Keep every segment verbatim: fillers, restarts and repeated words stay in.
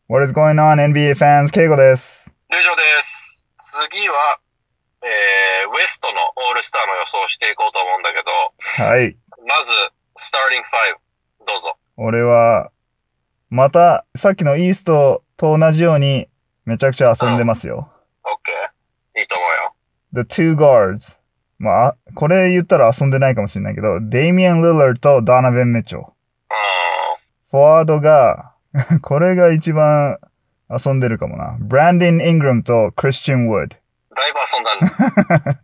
What is going on, N B A fans? ケイゴです。 ルジョです。次は、えー、ウエストのオールスターの予想をしていこうと思うんだけど、 はい。 まず、スターティングファイブ、どうぞ。 俺は、また、さっきのイーストと同じように、めちゃくちゃ遊んでますよ。 うん、OK。いいと思うよ。 The two guards。まあ、これ言ったら遊んでないかもしれないけど、デイミアン・リラードとドナヴェン・ミッチョル。フォワードが、これが一番遊んでるかもな。ブランディン・イングラムとクリスチャン・ウッド。 だいぶ遊んだね。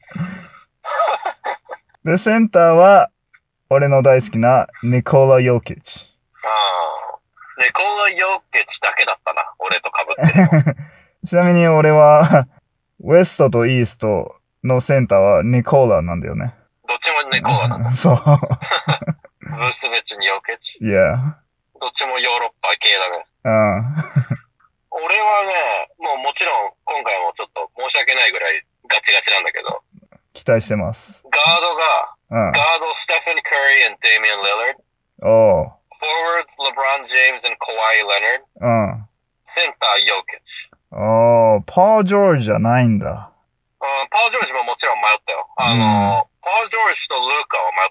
で、センターは、俺の大好きなニコラ・ヨーキッチ。 ああ。ニコラ・ヨーキッチだけだったな。俺と被ってるの。 ちなみに俺は、ウエストとイーストのセンターはニコラなんだよね。 どっちもニコラなんだ。 そう。 ブースベッチにヨーキッチ。 いや。 どっちもヨーロッパ系だね。 うん。 俺はね、もうもちろん今回もちょっと申し訳ないぐらいガチガチなんだけど。 期待してます。 ガードが、 うん、 ガード、ステフィン・カリー and デイミアン・リラード。 おう。 フォワード、レブロン・ジェームズ and カワイ・レナード。うん。センター、ヨーキッチ。 おー、パー・ジョージじゃないんだ。 うん、パー・ジョージももちろん迷ったよ。あの、うん、パー・ジョージとルーカは迷った。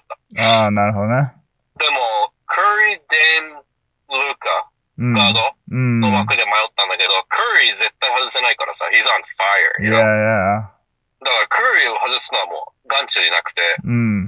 ああ、なるほどね。 でも、カリー、デイム、ルーカ、ガードの枠で迷ったんだけど、うん、カリー絶対外せないからさ、he's on fire. Yeah, yeah. だからカリーを外すのはもう眼中になくて、 うん、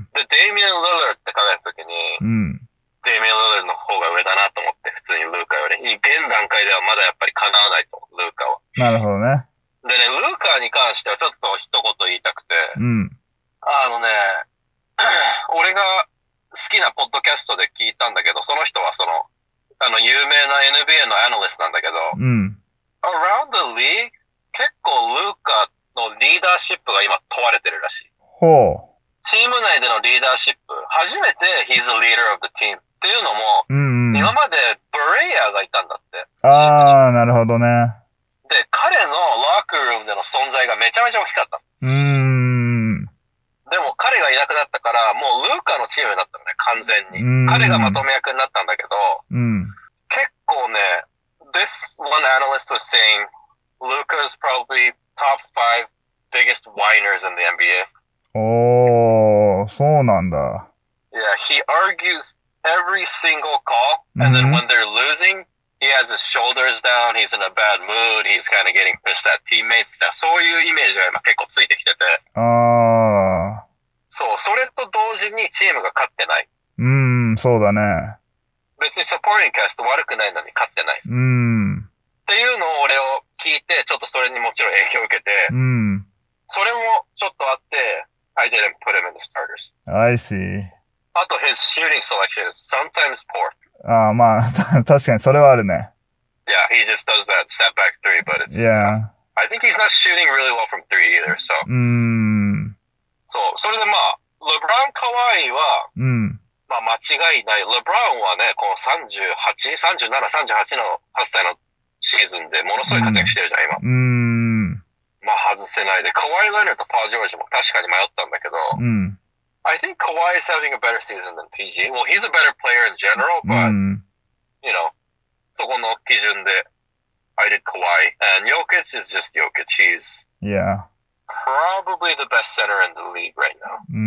で、デイミアン・リラードって考えたときに、うん、デイミアン・リラードの方が上だなと思って、普通にルーカより。現段階ではまだやっぱり叶わないと思う、ルーカは。 なるほどね。 でね、ルーカに関してはちょっと一言言いたくて、 うん、 あのね、俺が好きなポッドキャストで聞いたんだけど、その人はその、あの、有名な エヌビーエー のアナリストなんだけど、 うん、 Around the League 結構ルーカのリーダーシップが今問われてるらしい。 ほう。 チーム内でのリーダーシップ、初めて He's the leader of the team っていうのも、 うんうん、 今までブレイヤーがいたんだって。 あー、なるほどね。 で、彼のロッカールームでの存在がめちゃめちゃ大きかった。 うーん。 でも彼がいなくなったから、もうルーカのチームになったのね、完全に。彼がまとめ役になったんだけど、 うん、 結構ね、This one analyst was saying, Luka's probably top five biggest whiners in the N B A. おー、そうなんだ。 Yeah, he argues every single call, and then when they're losing, he has his shoulders down, he's in a bad mood, he's kind of getting pissed at teammates. そういうイメージが今結構ついてきてて。 あー。 そう、それと同時にチームが勝ってない。 うーん、そうだね。 別にサポーティングキャスト悪くないのに勝ってない。 うーん。 っていうのを俺を聞いて、ちょっとそれにもちろん影響を受けて、 うん。 それもちょっとあって、I didn't put him in the starters. I see. あと、his shooting selection is sometimes poor. ああ、まあ、確かにそれはあるね。 Yeah, he just does that step back three, but it's... Yeah. I think he's not shooting really well from three either, so... うーん。 そう、それでまあ、レブロン・カワイは、 うん。まあ間違いない。レブロンはね、このさんじゅうはち、さんじゅうなな、さんじゅうはちのはっさいのシーズンでものすごい活躍してるじゃん、今。 うーん。 まあ外せないで、カワイ・レナードとパー・ジョージも確かに迷ったんだけど、 うん。 I think Kawhi is having a better season than ピージー. Well, he's a better player in general, but, うん、you know, そこの基準で、I did Kawhi. And Jokic is just Jokic. He's yeah. probably the best center in the league right now. うん。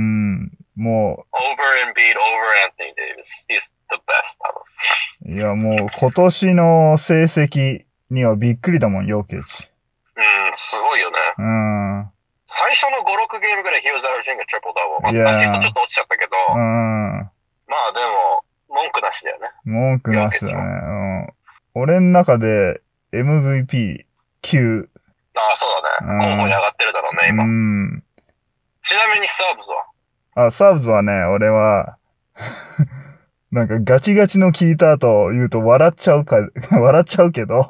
もう。 Over Embiid, over Anthony Davis. He's the best, 多分。いや、もう今年の成績にはびっくりだもん、ヨキッチ。 うん、すごいよね。 うん。 最初のご、ろくゲームぐらい he was averaging a triple double. まあ、アシストちょっと落ちちゃったけど、うん、まあでも、文句なしだよね。 文句なしだね。うん。俺の中で エムブイピーきゅう。 ああ、そうだね。候補に上がってるだろうね、今。うん。ちなみにサーブズはあ、サーブズはね、俺は、なんかガチガチの聞いた後言うと笑っちゃうか、笑っちゃうけど、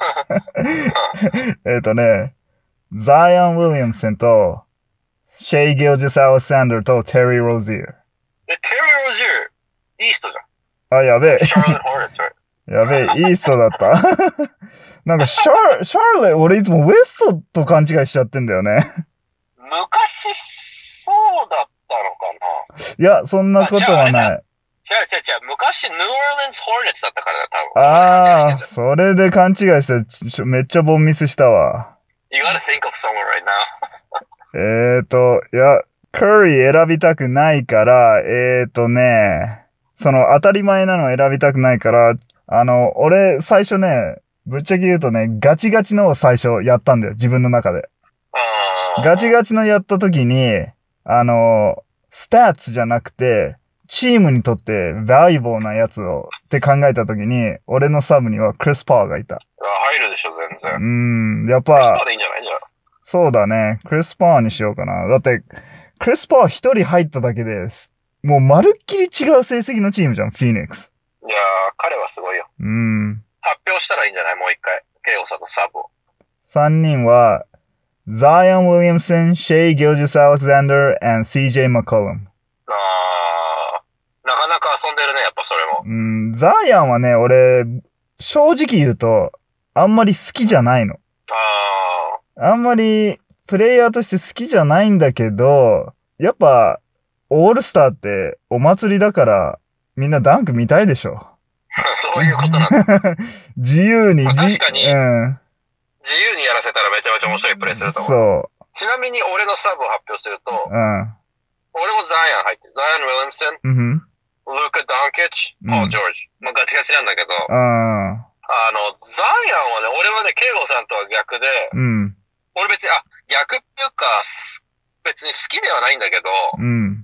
えっとね、ザイアン・ウィリアムソンと、シェイ・ギルジス・アレクサンダーとテリー・ロージー。 え、テリー・ロージー、イーストじゃん。あ、やべえ。 シャーレット・ホーネッツ、 やべえ、イーストだった。なんかシャー、シャーレ、俺いつもウエストと勘違いしちゃってんだよね。 昔、そうだったのかな。 いや、そんなことはない。 違う違う違う。昔、ニューオーリンズ・ホーネッツだったからだ、多分。あああ、それで勘違いして、めっちゃボンミスしたわ。 You gotta think of someone right now. えーと、いや、カリー選びたくないから、えーとね、その当たり前なの選びたくないから、あの、俺、最初ね、ぶっちゃけ言うとね、ガチガチのを最初やったんだよ、自分の中で。ガチガチのやった時に、あの、スタッツじゃなくて、チームにとってバリューなやつをって考えた時に、俺のサブにはクリス・パーがいた。 入るでしょ、全然。 うん、やっぱ。 クリス・パーでいいんじゃないじゃあ。 そうだね。クリス・パーにしようかな。だって、クリス・パー一人入っただけで、もうまるっきり違う成績のチームじゃん、フィニックス。 いやー、彼はすごいよ。 うん。 発表したらいいんじゃないもう一回。ケイオさんのサブを。 三人は、ザイアン・ウィリアムソン、シェイ・ギルジス・アレクサンダー、and シージェー マコルム。 あー、なかなか遊んでるね、やっぱそれも。 うん、ザイアンはね、俺、正直言うと、あんまり好きじゃないの。 あー。 あんまり、プレイヤーとして好きじゃないんだけど、やっぱ、オールスターってお祭りだから、みんなダンク見たいでしょ。 そういうことなんだ。 自由に、 まあ、確かに、 うん、 自由にやらせたらめちゃめちゃ面白いプレイすると思う。そう。ちなみに俺のサブを発表すると、うん、俺もザイアン入ってる。ザイアン・ウィリアムソン、うん、ルーカ・ダンケッチ、ポール・ジョージ。まあガチガチなんだけど、うん、あの、ザイアンはね、俺はね、ケイゴさんとは逆で、うん、俺別に、あ、逆っていうか、別に好きではないんだけど、うん、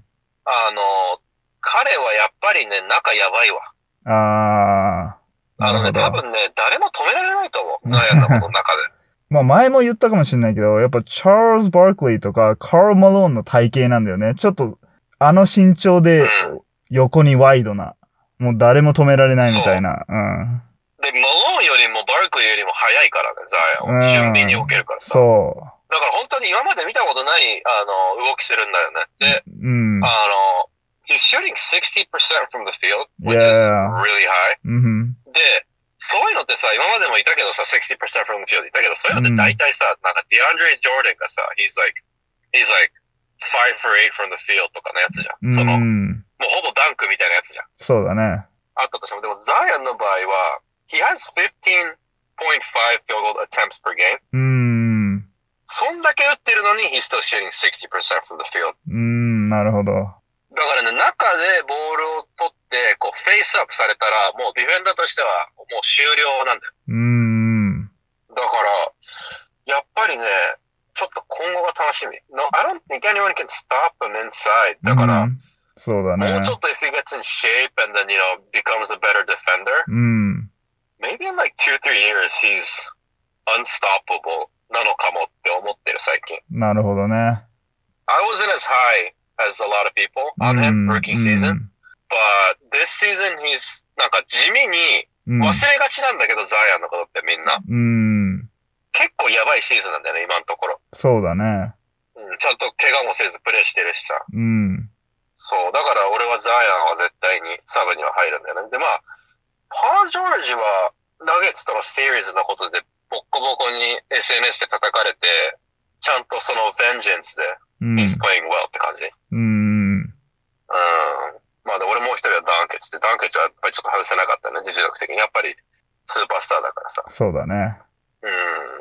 あの、彼はやっぱりね、仲やばいわ。ああ。あのね、多分ね、誰も止められないと思う。ザイアンのことの中で。 まあ前も言ったかもしれないけど、やっぱチャールズ・バークリーとかカール・マローンの体型なんだよね。ちょっと、あの身長で横にワイドな。もう誰も止められないみたいな。うん。 で、マローンよりもバークリーよりも速いからね、ザイアンは。俊敏に置けるからさ。 そう。 だから本当に今まで見たことない、あの、動きしてるんだよね。で、うん、あの、he's shooting sixty percent from the field, which is really high. Mm-hmm. で、そういうのってさ、今までもいたけどさ、sixty percent from the field いたけど、そういうのって大体さ、mm-hmm. なんか DeAndre Jordan がさ、he's like, he's like five for eight from the field とかのやつじゃん。Mm-hmm. その、もうほぼダンクみたいなやつじゃん。 そうだね。 あったとしても、でもザイアンの場合は、he has fifteen point five field goal attempts per game. うん。そんだけ打ってるのに、he's still shooting sixty percent from the field. うん、なるほど。 だからね、中でボールを取って、こう、フェイスアップされたら、もうディフェンダーとしては、もう終了なんだよ。うーん。だから、やっぱりね、ちょっと今後が楽しみ。No, I don't think anyone can stop him inside. だから、 そうだね。 もうちょっと if he gets in shape and then, you know, becomes a better defender, うん。maybe in like two, three years he's unstoppable なのかもって思ってる最近。 なるほどね。 I wasn't as high as a lot of people on him rookie season, but this season he's なんか地味に忘れがちなんだけど、ザイアンのことってみんな。うん。結構やばいシーズンなんだよね、今のところ。 そうだね。 うん、ちゃんと怪我もせずプレーしてるしさ。 うん。 そう、だから俺はザイアンは絶対にサブには入るんだよね。で、まあ、パー・ジョージはナゲッツとのシリーズのことでボッコボコに エスエヌエス で叩かれて、ちゃんとそのベンジェンスで、うん、he's playing well って感じ。うん。うん。まあで、俺もう一人はダンケッチで、ダンケッチはやっぱりちょっと外せなかったね、実力的に。やっぱりスーパースターだからさ。 そうだね。 うん。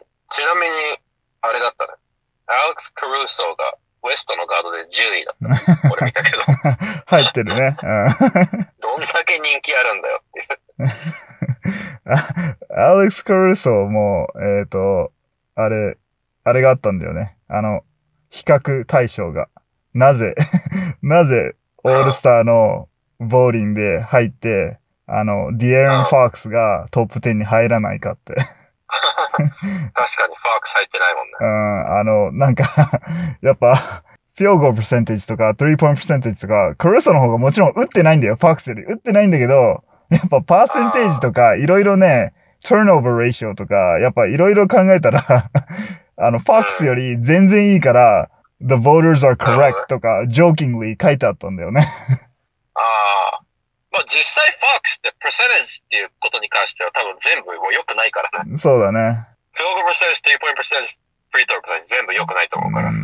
ちなみに、あれだったね。アレックス・カルーソーがウエストのガードでじゅういだった。俺見たけど。 入ってるね。 どんだけ人気あるんだよっていう。 アレックス・カルーソーも、えっと、あれ、あれがあったんだよね。あの、比較対象が。なぜ、なぜ、オールスターのボーリンで入って、あの、ディエロン・ファークスがトップじゅうに入らないかって。 確かにファークス入ってないもんね。 うん、あの、なんか、やっぱ、フィールドゴールパーセンテージとか、スリーポイントパーセンテージとか、カルーソーの方がもちろん打ってないんだよ、ファークスより。打ってないんだけど、やっぱパーセンテージとか、いろいろね、ターンオーバーレーションとか、やっぱいろいろ考えたら、あの、ファークスより全然いいから、The voters are correct とか、jokingly 書いてあったんだよね。 ああ。まあ実際ファークスって、パーセンテージっていうことに関しては多分全部もう良くないからね。 そうだね。 フィールドゴールパーセンテージ、スリーポイントパーセンテージ、フリートローパーセンテージ全部良くないと思うから。うん、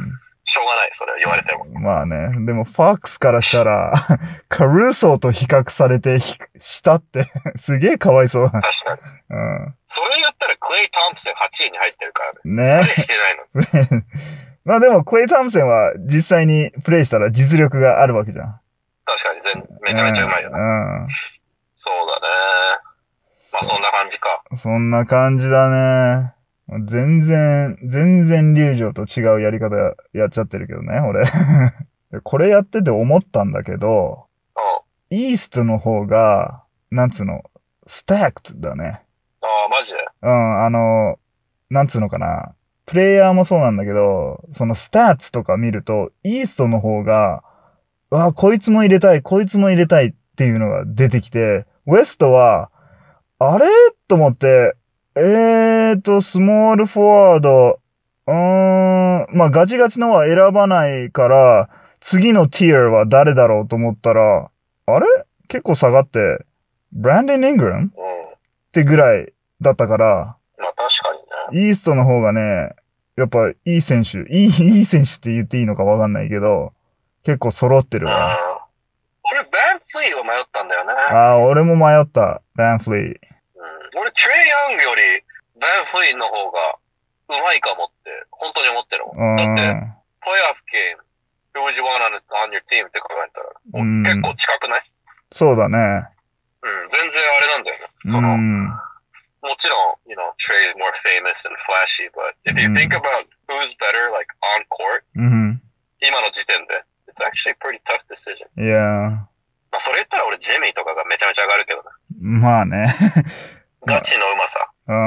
しょうがない、それは言われても。 まあね。でも、ファックスからしたら、カルーソーと比較されてしたって、すげえかわいそう。 確かに。うん。それ言ったら、クレイ・トンプソンはちいに入ってるからね。ね。プレイしてないの。 まあでも、クレイ・トンプソンは実際にプレイしたら実力があるわけじゃん。 確かに全、めちゃめちゃうまいよね。うん。うん、そうだね。まあそんな感じか。 そんな感じだね。全然、全然流暢と違うやり方やっちゃってるけどね、俺。これやってて思ったんだけど、イーストの方が、なんつうの、スタックだね。 ああ、マジでうん、あの、なんつうのかな。プレイヤーもそうなんだけど、そのスタッツとか見ると、イーストの方が、わあ、こいつも入れたい、こいつも入れたいっていうのが出てきて、ウエストは、あれと思って、えーと、スモールフォワード、うーん、まあガチガチのは選ばないから、次のティアは誰だろうと思ったら、あれ結構下がって、ブランデン・イングラム、うん、ってぐらいだったから、 まあ確かにね。イーストの方がね、やっぱいい選手、いい、いい選手って言っていいのかわかんないけど、結構揃ってるわ。 俺、バンフリーを迷ったんだよね。 ああ、俺も迷った、バンフリー。 俺、トレイ・ヤングより、バンフリーの方がうまいかもって、本当に思ってるもん。だって、プレイオフゲーム、who would you want on, on your team って考えたら、もう結構近くない？ そうだね。 うん、全然あれなんだよね。その、もちろん、you know, Trey is more famous and flashy, but if you think about who's better, like, on court, 今の時点で、it's actually a pretty tough decision. Yeah. まあ、それ言ったら俺、ジミーとかがめちゃめちゃ上がるけどね。 まあね。 ガチのうまさ。 うん、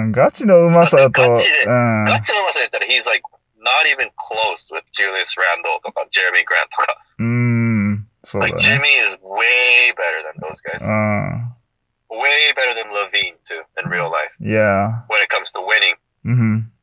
ガチのうまさだと。 ガチで、うん、ガチのうまさで言ったら、he's like not even close with Julius Randle とか Jeremy Grant とか。 うん、そうだね。 Like Jimmy is way better than those guys. うん。Way better than Levine too in real life. Yeah. When it comes to winning. うん。